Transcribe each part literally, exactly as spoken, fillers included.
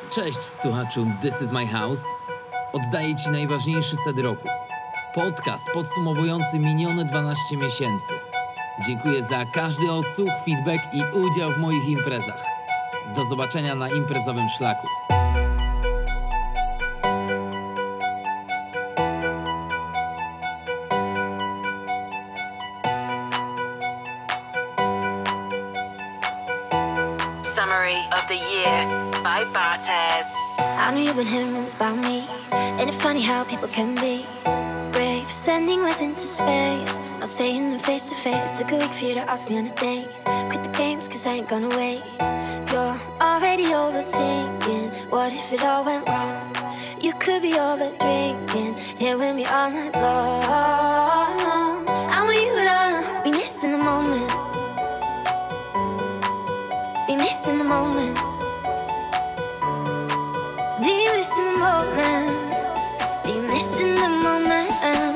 Cześć słuchaczu This is my house. Oddaję Ci najważniejszy set roku. Podcast podsumowujący minione dwanaście miesięcy. Dziękuję za każdy odsłuch, feedback i udział w moich imprezach. Do zobaczenia na imprezowym szlaku. Summary of the year by Bartez. I know you've been hearing rumors about me. Ain't it funny how people can be brave, sending letters into space, not saying them face to face. Took a week for you to ask me on a date. Quit the games cause I ain't gonna wait. You're already overthinking, what if it all went wrong? You could be over drinking, here with me all night long. I want you to be missing the moment, be missing the moment, be missing the moment, be missing the moment,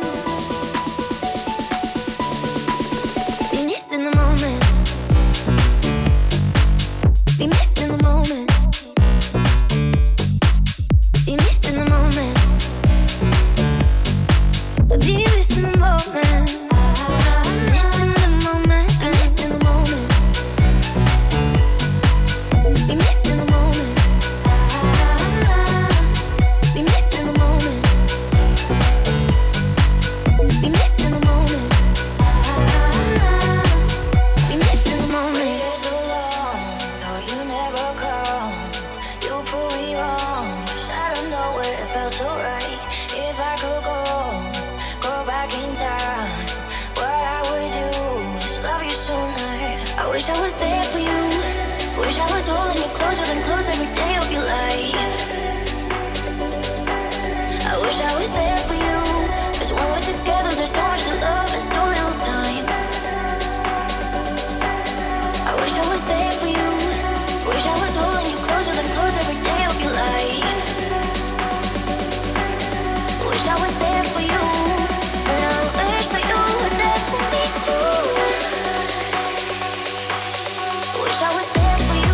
be missing the moment, be missing the moment, be missing the moment, be missing the moment, missing the moment, missing the moment. Be missing the moment. Be missing the moment. Be missing the moment. Be missing the moment. Waited so long, thought you never come. You proved me wrong. Out of nowhere, it felt so right. If I could go, go back in time, what I would do is love you sooner. I wish I was there for you. Wish I was holding you closer than close every day of your life. I wish I was there for you, cause when we're together there's so much to love and so little time. I wish I was there for you. Wish I was holding you closer than close every day of your life. Wish I was there for you, and I wish that you were there for me too. Wish I was there.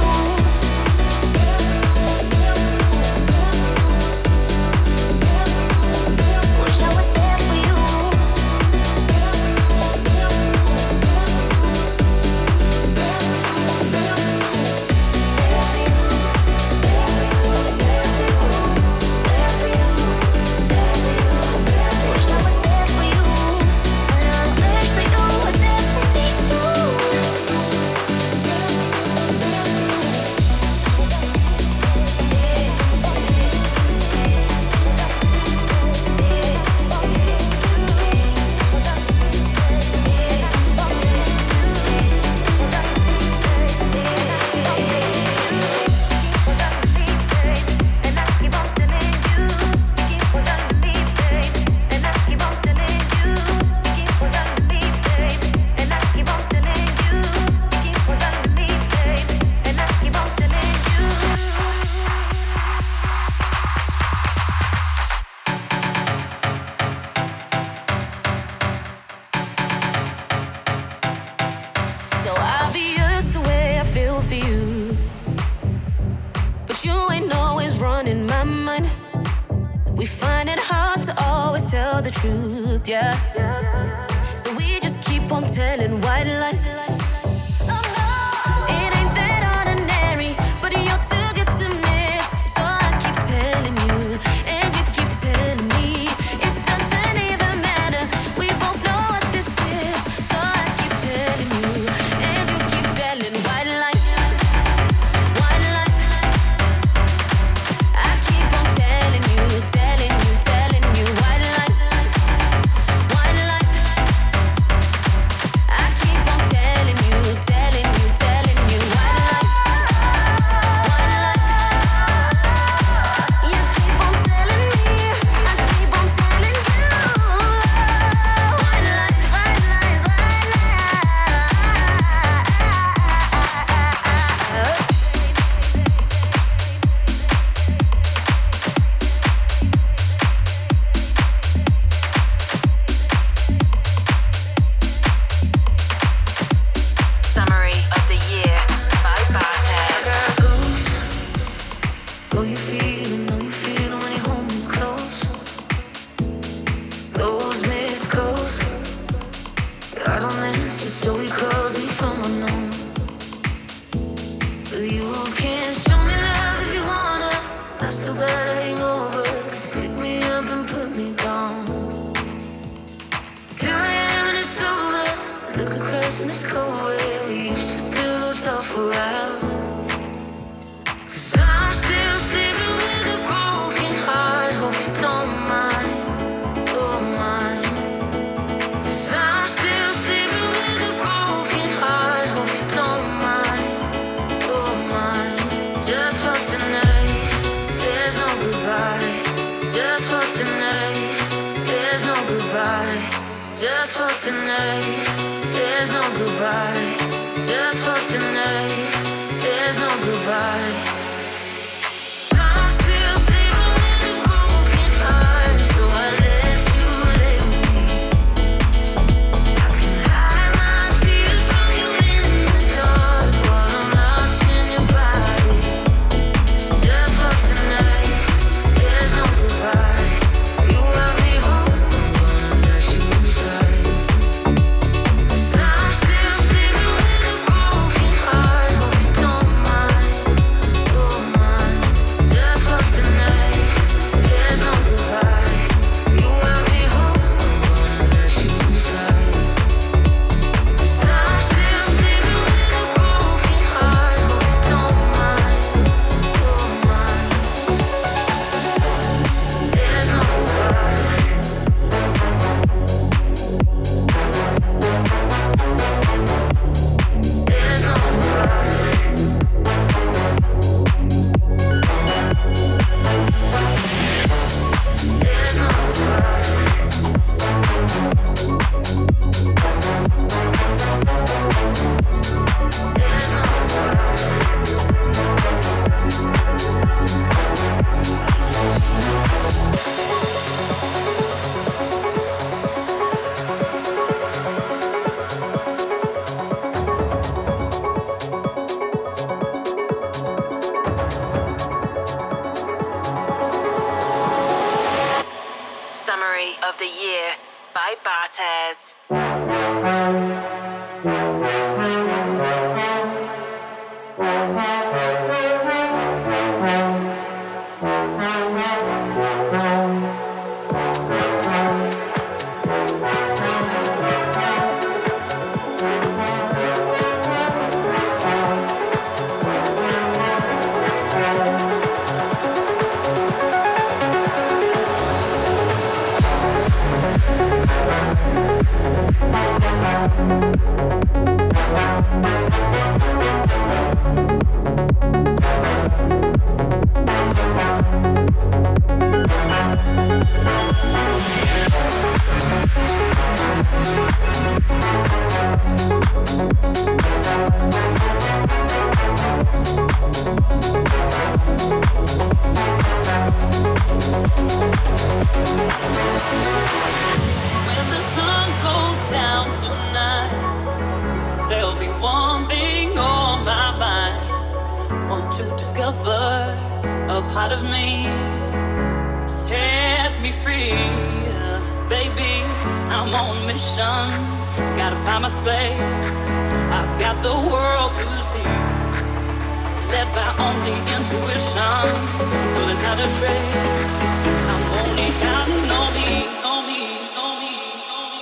The truth, yeah. So we just keep on telling white lies. It ain't that ordinary, but you're too good to miss. So I keep telling you, and you keep telling me. It doesn't even matter, we both know what this is. So I keep telling you, and you keep telling white lies. White lies. I keep on telling you, telling you, telling you white lies. White lies. I keep on telling you. Oh, you feel it, know you feel it when you hold me close. It's those missed calls. I don't answer, so he calls me from unknown. So you can show me love if you wanna. I still gotta hang over, 'cause you pick me up and put me down. Here I am and it's over. Look across and it's cold where we used to pillow talk for hours. 'Cause I'm still sleeping with a broken heart. Hope you don't mind, don't mind. 'Cause I'm still sleeping with a broken heart. Hope you don't mind, don't mind. Just for tonight, there's no goodbye. Just for tonight, there's no goodbye. Just for tonight, there's no goodbye. Just for tonight, there's no goodbye. I'm still sleeping with a broken heart, so I let you lay with me. I can hide my tears from you in the dark, but I'm lost in your body. Just for tonight, there's no goodbye. You want me home, I'm gonna let you inside. 'Cause I'm still sleeping with a broken heart. Hope you don't mind, don't mind. Just for tonight, there's no goodbye. You want me home, I'm gonna let you inside. 'Cause I'm still sleeping with a broken heart. Hope you don't mind, don't mind. There's no goodbye. There's no goodbye. There's no goodbye. There's no goodbye. Summary of the year by Bartez. When the sun goes down tonight, there'll be one thing on my mind. Want to discover a part of me, set me free. Baby, I'm on a mission, gotta find my space. I've got the world to see, led by only intuition. No, there's not a trace. I'm only counting on me, on me, on me, on me,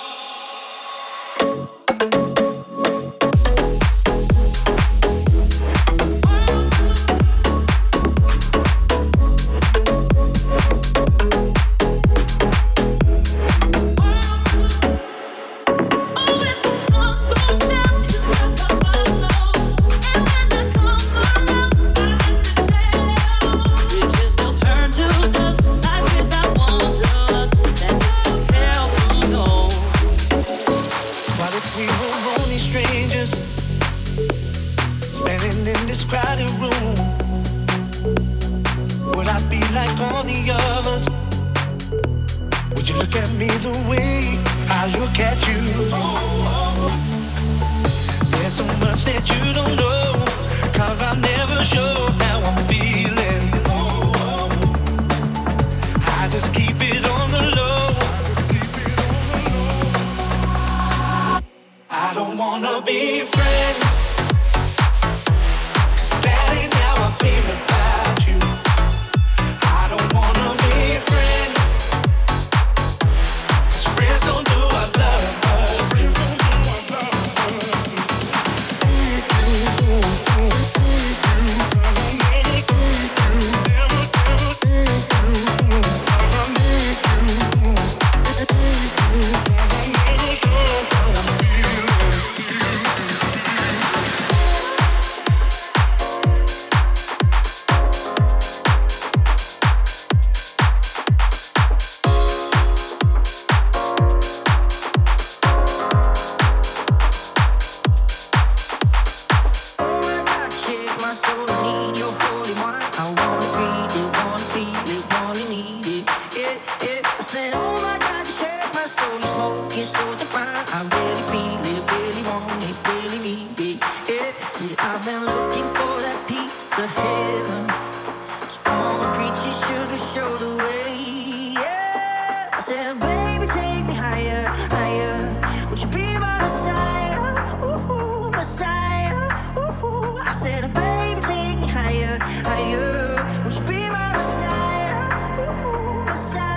Oh, if the sun goes down, just rock up my soul. And when I come around, I hit the shadow. Bridges they'll turn to dust, life without wonders. That is so hell to know. What if we were only strangers, standing in this crowded room? Would I be like all the others? Would you look at me the way I look at you? There's so much that you don't know, 'cause I never show how I'm feeling. show the way. Yeah, I said, baby, take me higher, higher. Would you be my Messiah? Ooh, Messiah. Ooh, I said, baby, take me higher, higher. Would you be my Messiah? Ooh, Messiah.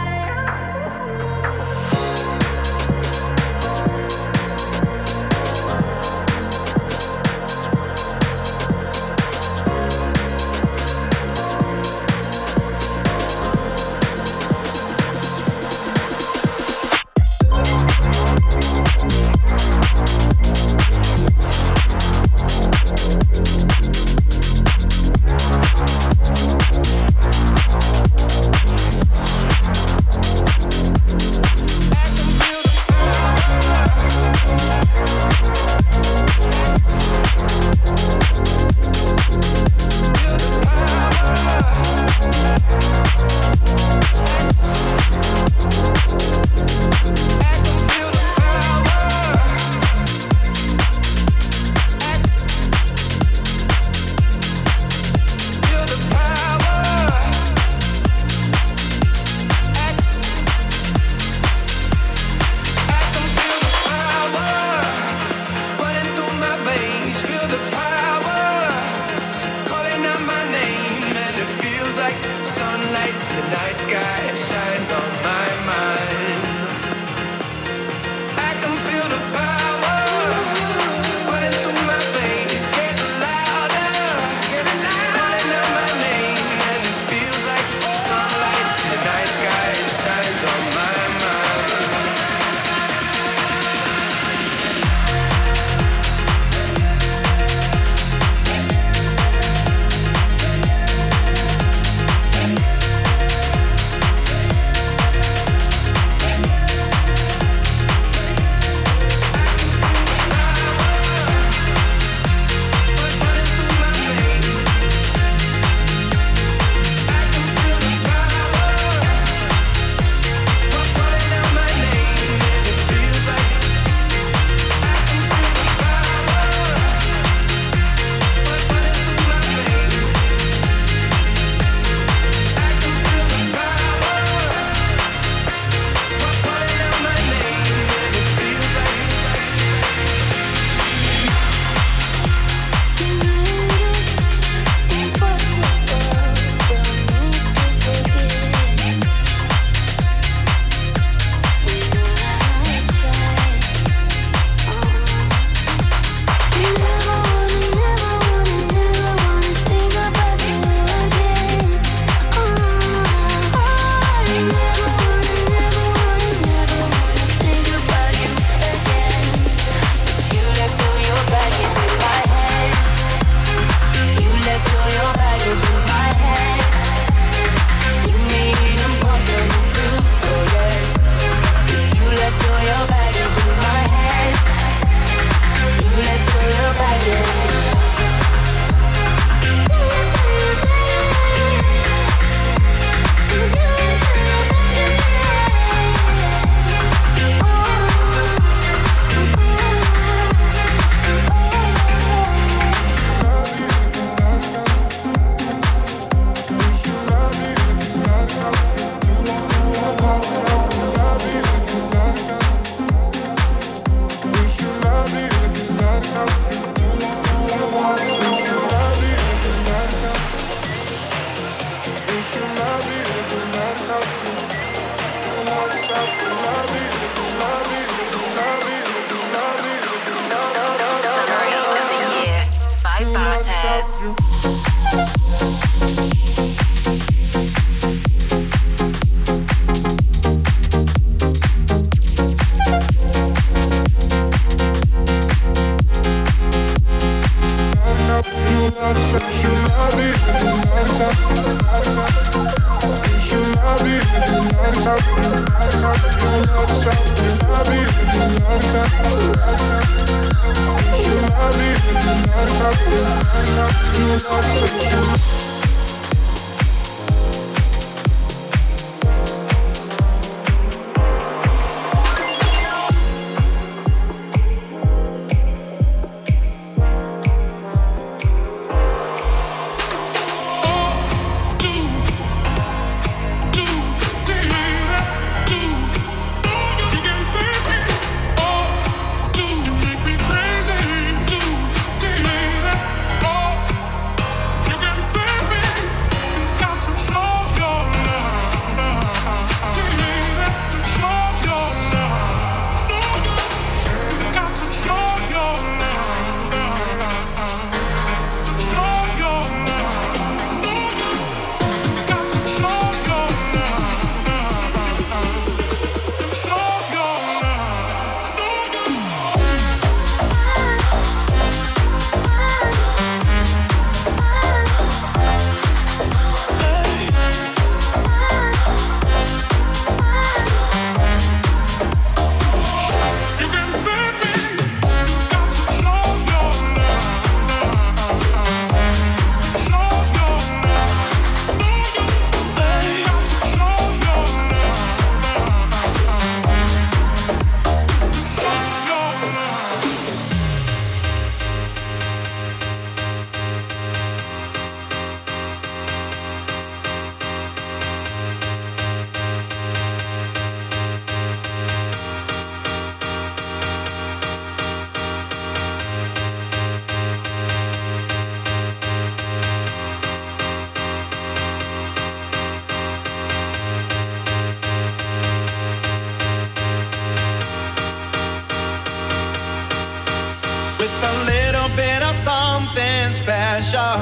little bit of something special.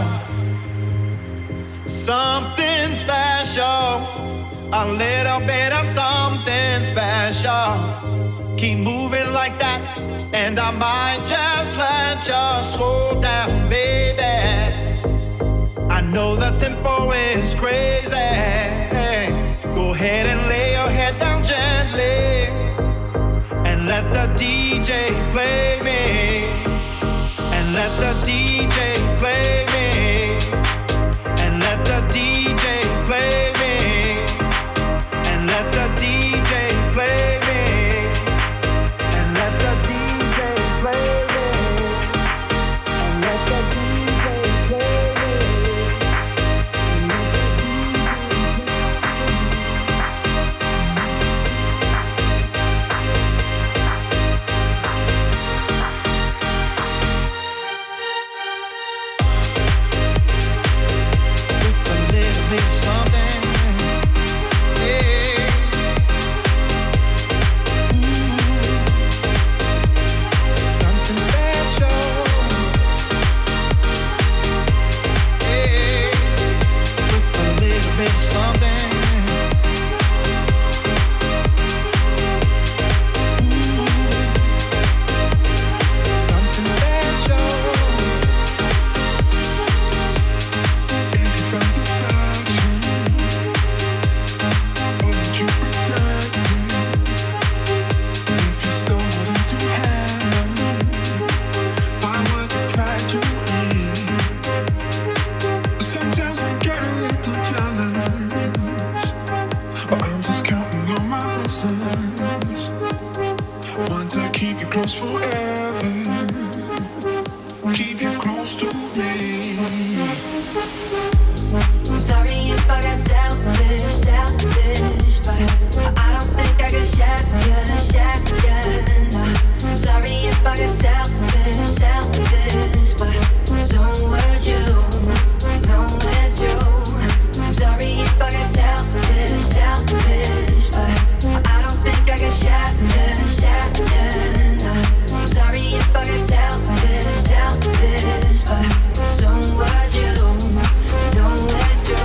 Something special. A little bit of something special. Keep moving like that, and I might just let you slow down, baby. I know the tempo is crazy. Go ahead and lay your head down gently, and let the D J play me. And let the D J play me. And let the D J play me. And let the D J play me. And let the D J play me. And let the D J play me. With a little bit of something, yeah. Ooh, something special, yeah. With a little bit of something, ooh, something special. If you found affection, wouldn't you protect it? If you stole into heaven, why would you try to leave? Sometimes I get a little jealous, but I'm just counting on my blessings. Want to keep you close forever, keep you close to me. Sorry if I got selfish, selfish, but I don't think I can share you, share you. No. Sorry if I got selfish, selfish, but so would you. No, it's true. Sorry if I got selfish, selfish, but I don't think I can share you, share you. No. Sorry if I got selfish, selfish, but so would you. No, it's true.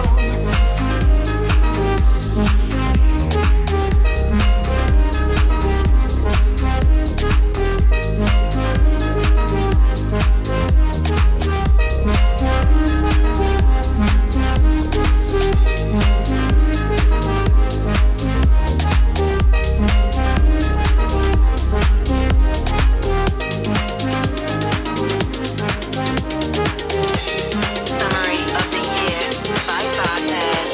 Summary of the year by Bartez.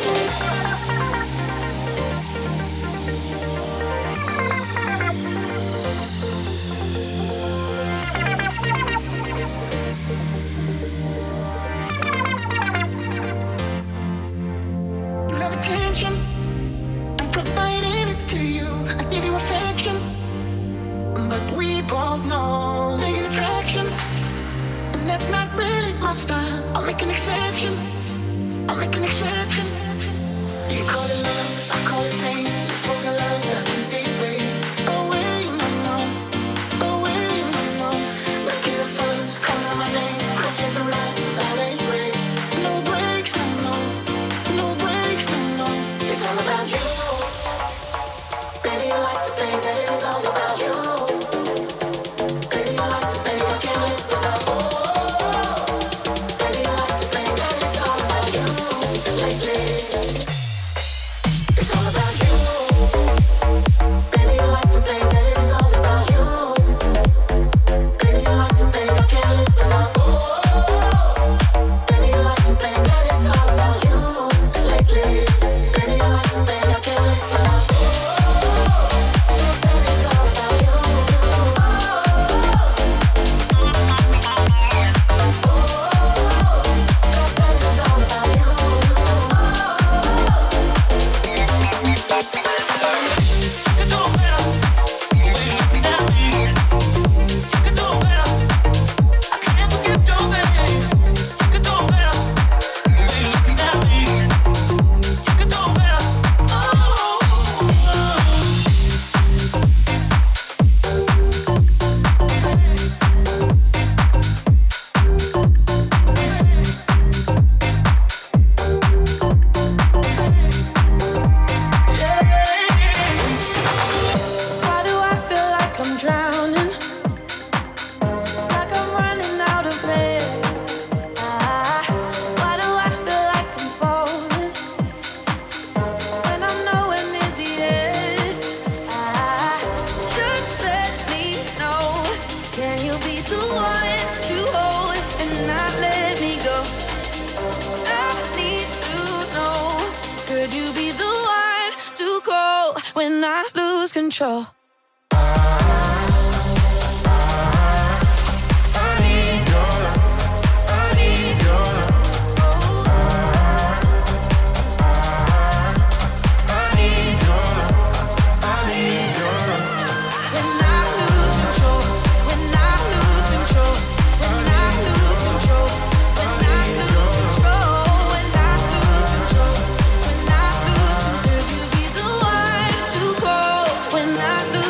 You love attention, I'm providing it to you. I give you affection, but we both know there's an attraction, and that's not really my style. I'll make an exception, I'll make an exception. You call it love, I call it pain. You forget love, so I can stay away. Away, you know, away, you know. Making the first, call out my name. Cruising through life without any breaks. No breaks, no, no. No breaks, no, no. It's all about you. Baby, I like to think that it is all about you. Baby, I like to think I can't live without you. Baby, I like to think that it's all about you lately. Could you be the one to go when I lose control? When I lose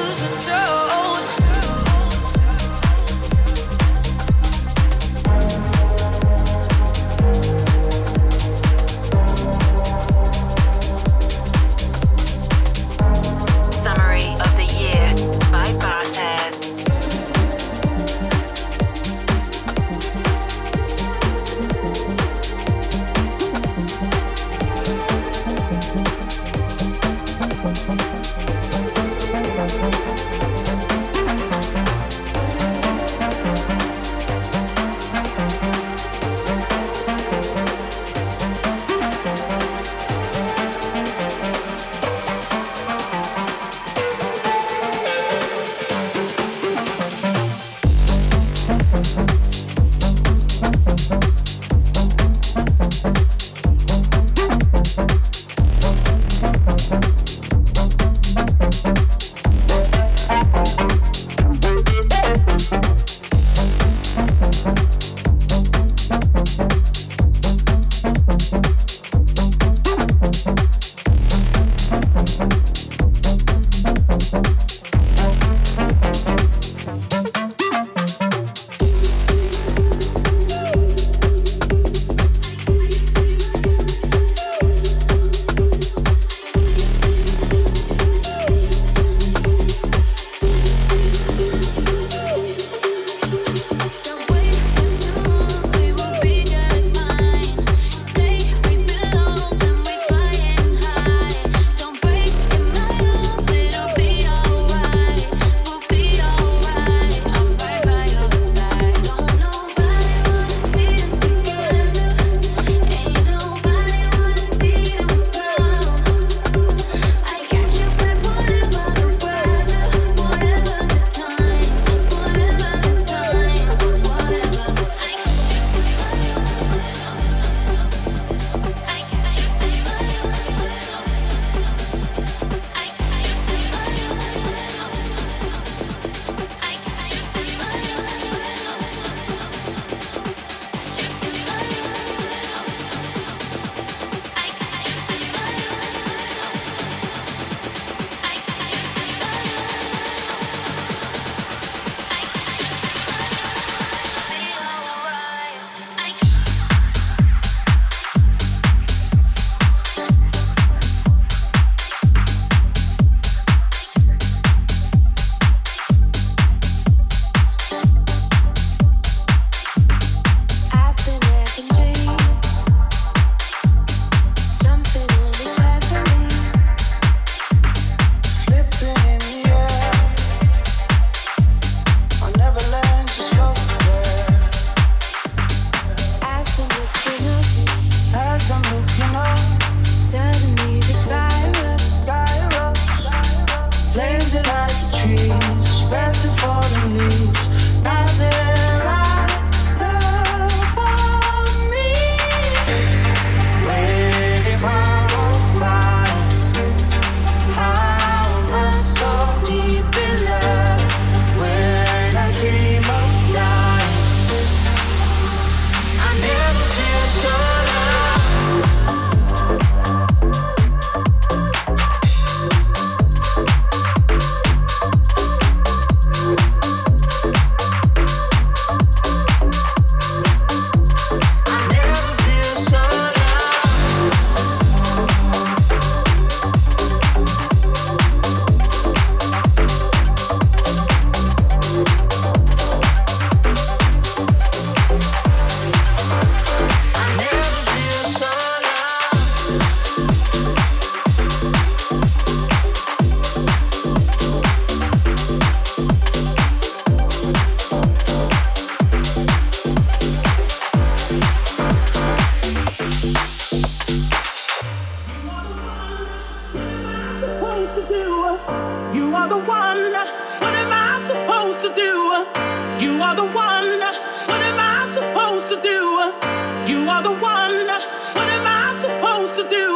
You are the one. What am I supposed to do? You are the one. What am I supposed to do? You are the one. What am I supposed to do?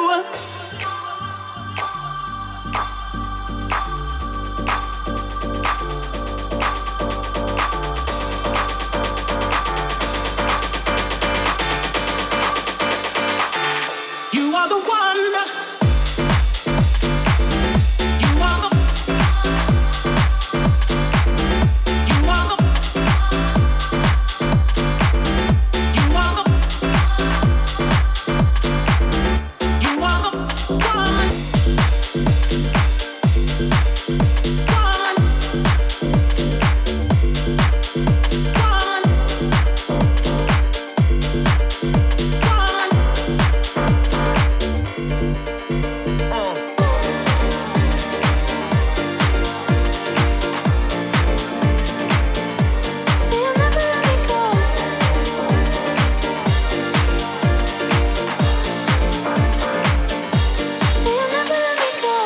You are the one. You are the. You are the. You are the. You are the one. One. One. One. So you'll never let me go. So you'll never let me go.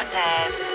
Bartez.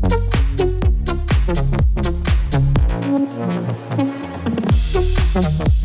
Thank you.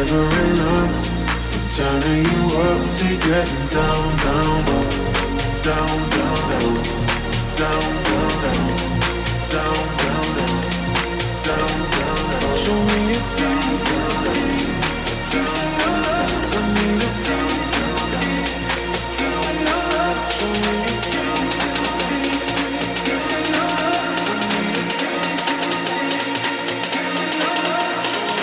never enough. I'm turning you up to getting down, down, down, down, down, down, down, down, down, down, down, down, down. Show me a piece, a piece, a piece of your love. I need a piece, a piece, a piece of your love. Show me a piece, a piece, a piece of your love. I need a piece, a piece, a piece of your love.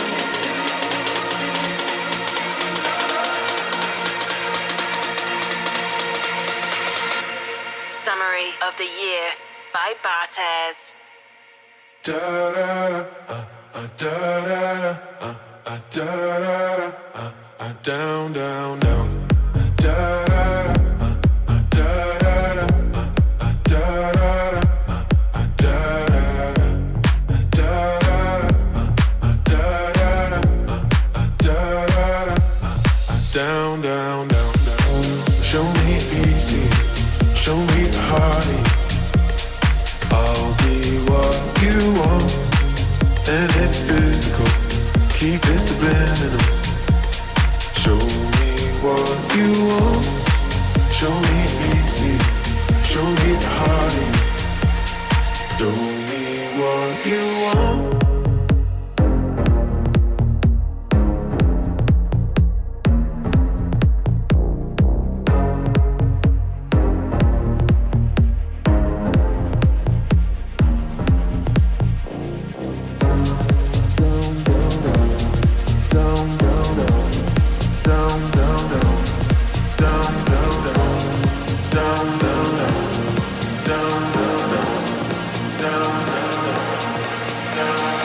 Summary of the year by Bartez. Da da da, uh, uh, da da da, uh, uh, da da da, uh, uh, down, down, down. Da da da, uh, uh, da da da, uh, uh, da da da, uh, uh, da da da, da da da, uh, uh, da da da, uh, uh, da da da, uh, uh, down, down, down, down. Show me easy, show me the heartache. I'll be what you want, and it's physical. Keep it subliminal. Show me what you want. Show me easy. Show me the heartache. Show me what you want. Down, down, down, down, down, down, down.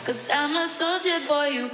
'cause I'm a soldier for you.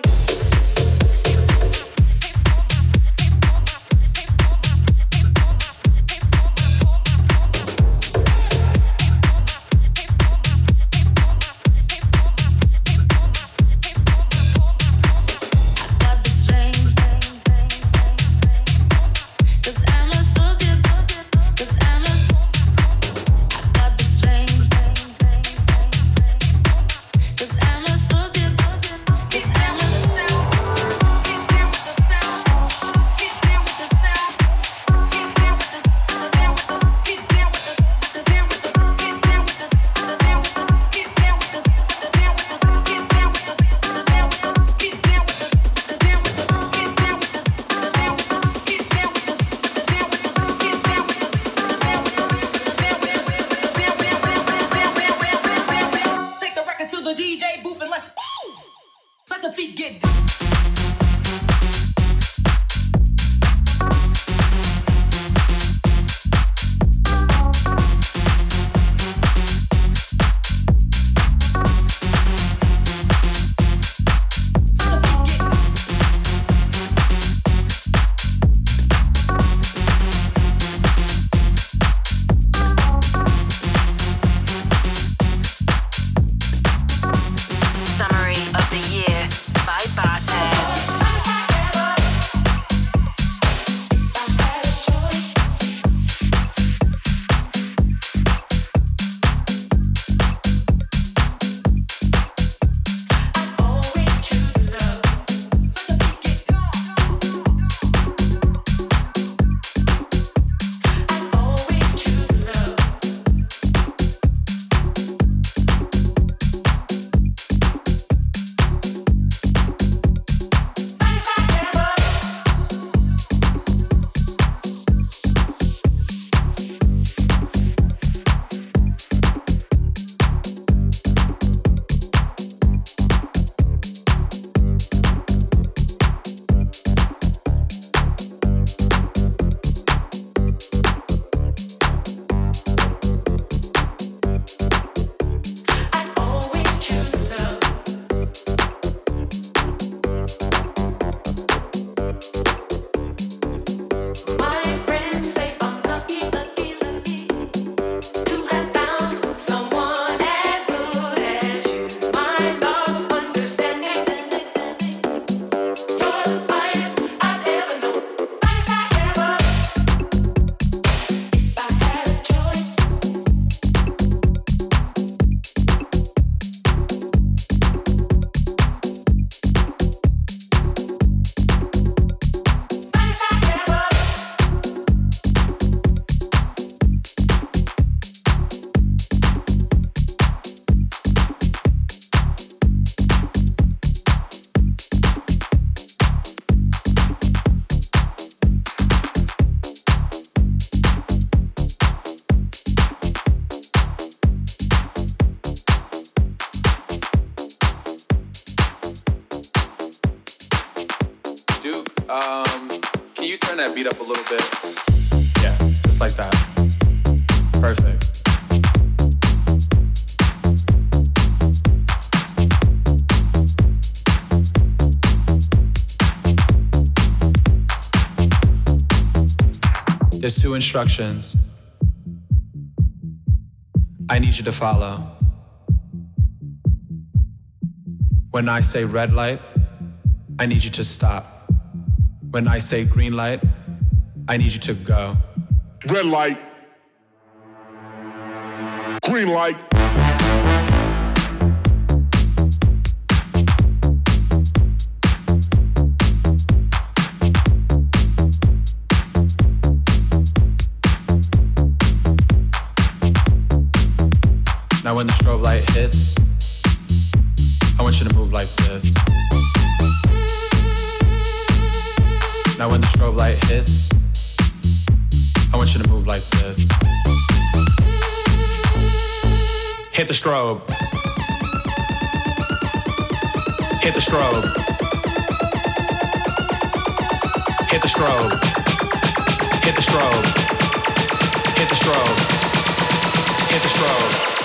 Um, can you turn that beat up a little bit? Yeah, just like that. Perfect. There's two instructions I need you to follow. When I say red light, I need you to stop. When I say green light, I need you to go. Red light. Green light. Now when the strobe light hits, I want you to move like this. Now when the strobe light hits, I want you to move like this. Hit the strobe. Hit the strobe. Hit the strobe. Hit the strobe. Hit the strobe. Hit the strobe.